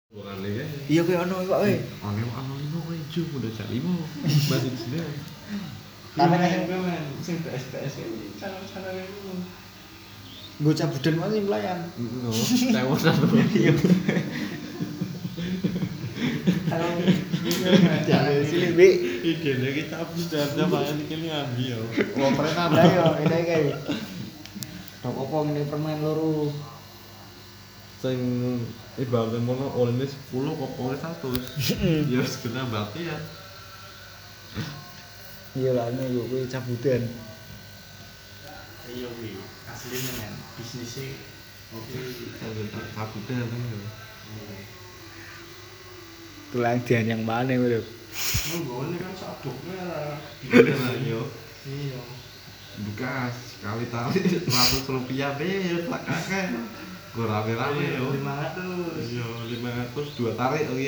Orane kae. Iya kowe ono Pak kowe. Ono limo kowe ju udah jak limo. Masih sini. Karena sing PS ini cara-cara itu. nggo cabudan wae pelayan. Ngono, tewonan lho. Iya. Kalau jangan sini Bi. Idene kita habis dada paling iki ngambi yo. Wong pernah ndak yo ini kae. Tok opo ngene permen loro. Sing ibaratnya mono olehnya 10 kok oleh 100. Ya wis kena berarti ya. Iya lah ini kowe cabudan. Iya wi, asline men bisnisnya oke. Kabutnya kan yo. Tulang dian yang mana kowe lho. Nggone kan sabuknya lah. Bener yo. Iya. Bekas sekali tali 100 rupiah be plak kakek. Gue rame-rame yo. 500. Iya 500 2 tarik